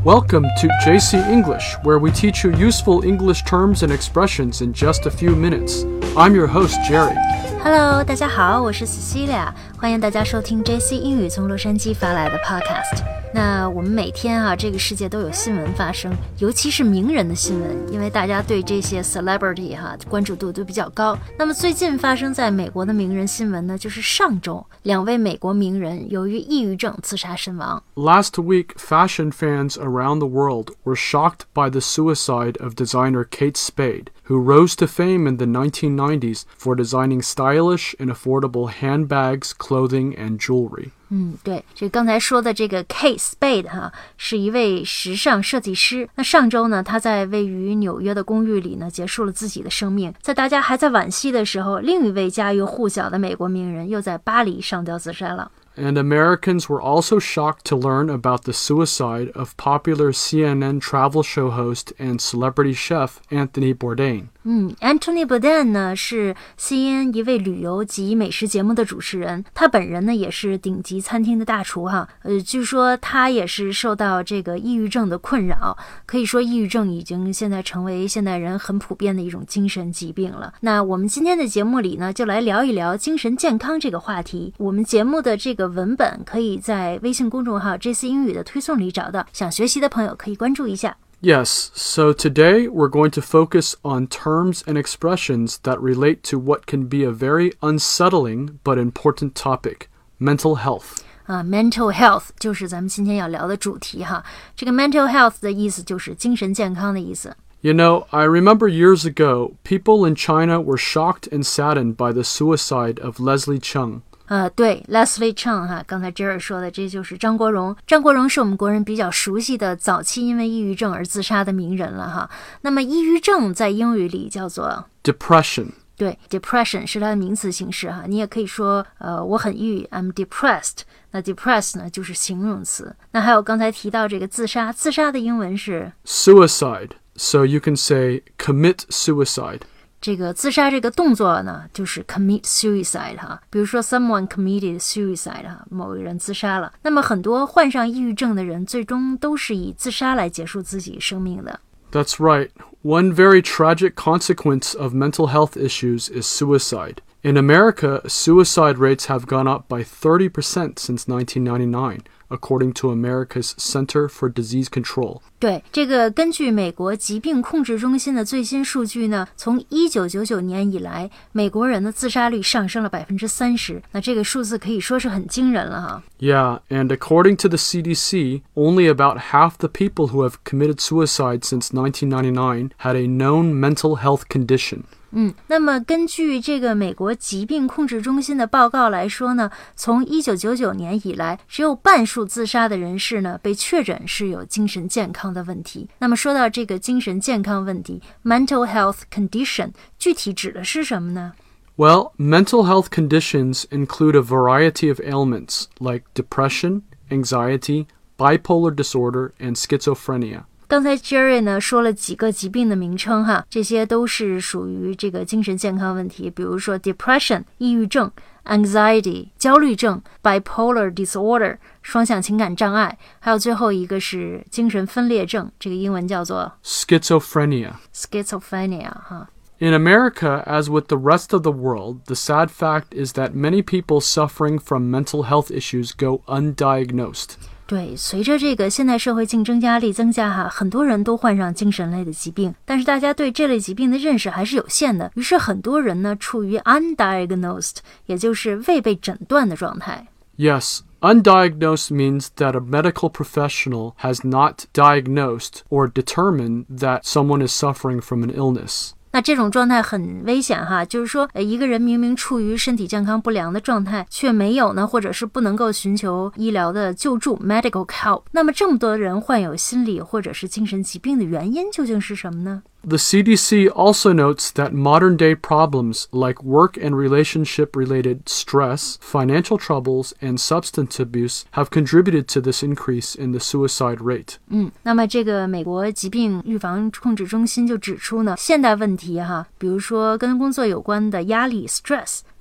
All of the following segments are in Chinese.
Welcome to JC English, where we teach you useful English terms and expressions in just a few minutes. I'm your host, Jerry.Hello， 大家好，我是 Cecilia， 欢迎大家收听 JC 英语从洛杉矶发来的 podcast。那我们每天这个世界都有新闻发生，尤其是名人的新闻，因为大家对这些 celebrity 关注度都比较高。那么最近发生在美国的名人新闻呢，就是上周2位美国名人由于抑郁症自杀身亡。 Last week, fashion fans around the world were shocked by the suicide of designer Kate Spade.Who rose to fame in the 1990s for designing stylish and affordable handbags, clothing, and jewelry. 对，这刚才说的这个 Kate Spade 是一位时尚设计师。那上周呢，他在位于纽约的公寓里呢，结束了自己的生命。在大家还在惋惜的时候，另一位家喻户晓的美国名人又在巴黎上吊自杀了。 And Americans were also shocked to learn about the suicide of popular CNN travel show host and celebrity chef Anthony Bourdain.Anthony Bourdain 呢是 CNN 一位旅游及美食节目的主持人，他本人呢也是顶级餐厅的大厨据说他也是受到这个抑郁症的困扰，可以说抑郁症已经现在成为现代人很普遍的一种精神疾病了。那我们今天的节目里呢，就来聊一聊精神健康这个话题。我们节目的这个文本可以在微信公众号 JC 英语的推送里找到，想学习的朋友可以关注一下。 Yes, so today we're going to focus on terms and expressions that relate to what can be a very unsettling but important topic, mental health.Mental health 就是咱们今天要聊的主题这个 mental health 的意思就是精神健康的意思。 You know, I remember years ago, people in China were shocked and saddened by the suicide of Leslie Cheung. 对 Leslie Cheung 刚才 Jerry 说的，这就是张国荣。张国荣是我们国人比较熟悉的早期因为抑郁症而自杀的名人了那么抑郁症在英语里叫做 depression。 对 depression 是它的名词形式你也可以说我很抑郁 I'm depressed。那 depressed 呢就是形容词。那还有刚才提到这个自杀，自杀的英文是 suicide. So you can say commit suicide. 这个自杀这个动作呢，就是 commit suicide 比如说 someone committed suicide 某个人自杀了。那么很多患上抑郁症的人最终都是以自杀来结束自己生命的。 That's right. One very tragic consequence of mental health issues is suicide. In America, suicide rates have gone up by 30% since 1999.According to America's Center for Disease Control. 对，这个根据美国疾病控制中心的最新数据呢，从1999年以来，美国人的自杀率上升了 30%。那这个数字可以说是很惊人了 Yeah, and according to the CDC, only about half the people who have committed suicide since 1999 had a known mental health condition. 那么根据这个美国疾病控制中心的报告来说呢，从1999年以来，只有半数自杀的人士呢被确诊是有精神健康的问题。那么说到这个精神健康问题 mental health condition 具体指的是什么呢？ Well, mental health conditions include a variety of ailments like depression, anxiety, bipolar disorder, and schizophrenia. 刚才 Jerry 呢说了几个疾病的名称这些都是属于这个精神健康问题，比如说 depression 抑郁症， anxiety 焦虑症， bipolar disorder 双向情感障碍，还有最后一个是精神分裂症，这个英文叫做 schizophrenia. In America, as with the rest of the world, the sad fact is that many people suffering from mental health issues go undiagnosed. 对，随着这个现代社会竞争压力增加很多人都患上精神类的疾病，但是大家对这类疾病的认识还是有限的，于是很多人呢处于 undiagnosed， 也就是未被诊断的状态。 Yes, undiagnosed means that a medical professional has not diagnosed or determined that someone is suffering from an illness. 那这种状态很危险就是说一个人明明处于身体健康不良的状态，却没有呢，或者是不能够寻求医疗的救助 medical help。 那么这么多人患有心理或者是精神疾病的原因究竟是什么呢？ The CDC also notes that modern-day problems like work and relationship-related stress, financial troubles, and substance abuse have contributed to this increase in the suicide rate. 那么这个美国疾病预防控制中心就指出呢，现代问题比如说跟工作有关的压力 stress。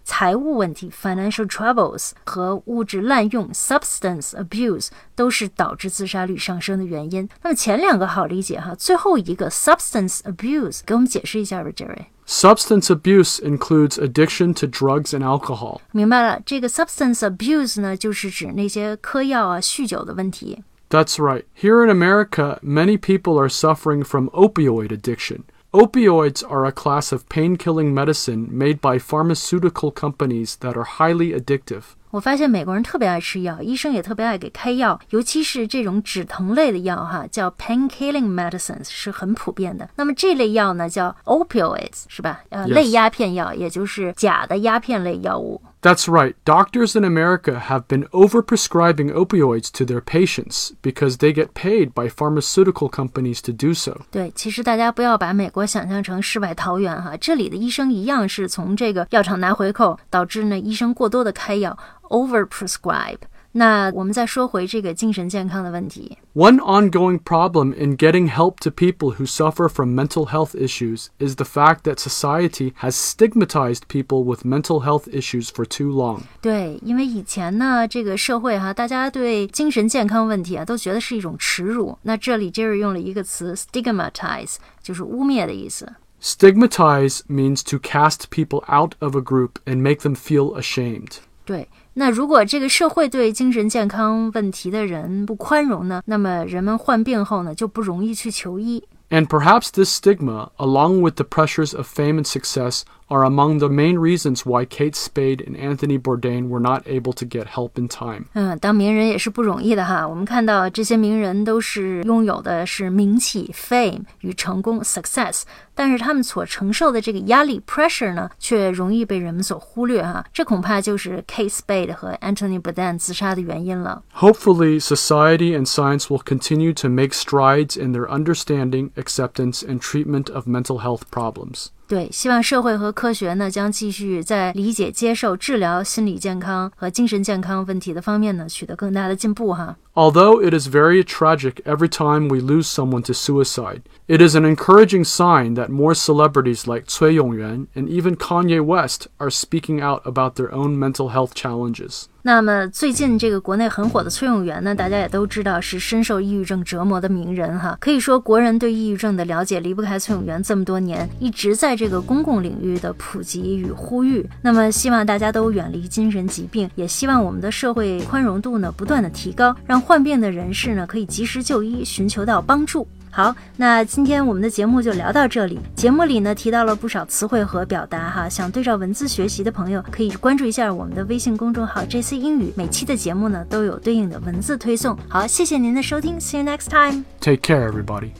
财务问题 financial troubles 和物质滥用 substance abuse 都是导致自杀率上升的原因。那么前两个好理解哈，最后一个 substance abuse 给我们解释一下吧 Jerry。Substance abuse includes addiction to drugs and alcohol. 明白了，这个 substance abuse 呢，就是指那些嗑药啊、酗酒的问题。 That's right. Here in America, many people are suffering from opioid addiction. Opioids are a class of pain-killing medicine made by pharmaceutical companies that are highly addictive. 我发现美国人特别爱吃药，医生也特别爱给开药，尤其是这种止疼类的药哈，叫 pain-killing medicines 是很普遍的。那么这类药呢叫 opioids 是吧类鸦片药，也就是假的鸦片类药物。 That's right. Doctors in America have been overprescribing opioids to their patients because they get paid by pharmaceutical companies to do so. 对，其实大家不要把美国想象成世外桃源哈，这里的医生一样是从这个药厂拿回扣，导致呢医生过多的开药 overprescribe。那我们再说回这个精神健康的问题。 One ongoing problem in getting help to people who suffer from mental health issues is the fact that society has stigmatized people with mental health issues for too long. 对，因为以前呢，这个社会哈，大家对精神健康问题啊，都觉得是一种耻辱。那这里 Jerry 用了一个词 stigmatize， 就是污蔑的意思。 Stigmatize means to cast people out of a group and make them feel ashamed. 对，那如果这个社会对精神健康问题的人不宽容呢，那么人们患病后呢，就不容易去求医。 And perhaps this stigma, along with the pressures of fame and success, are among the main reasons why Kate Spade and Anthony Bourdain were not able to get help in time. 当名人也是不容易的哈。我们看到这些名人都是拥有的是名气 fame 与成功 success， 但是他们所承受的这个压力 pressure 呢，却容易被人们所忽略哈。这恐怕就是 Kate Spade 和 Anthony Bourdain 自杀的原因了。 Hopefully, society and science will continue to make strides in their understanding, acceptance, and treatment of mental health problems. 对，希望社会和科学呢将继续在理解、接受、治疗心理健康和精神健康问题的方面呢取得更大的进步哈。 Although it is very tragic every time we lose someone to suicide, it is an encouraging sign that more celebrities like Cui Yongyuan and even Kanye West are speaking out about their own mental health challenges. 那么最近这个国内很火的崔永元呢，大家也都知道是深受抑郁症折磨的名人哈。可以说国人对抑郁症的了解离不开崔永元这么多年，一直在这个公共领域的普及与呼吁。那么希望大家都远离精神疾病，也希望我们的社会宽容度呢不断的提高，让患病的人士呢可以及时就医，寻求到帮助。好，那今天我们的节目就聊到这里。节目里呢提到了不少词汇和表达哈，想对照文字学习的朋友可以关注一下我们的微信公众号 JC 英语，每期的节目呢都有对应的文字推送。好，谢谢您的收听 ，See you next time. Take care, everybody.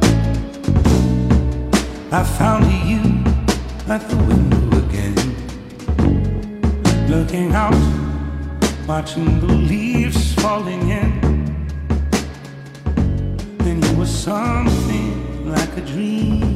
I found you at the window again, looking out, watching the leaves falling in. Then you were something like a dream.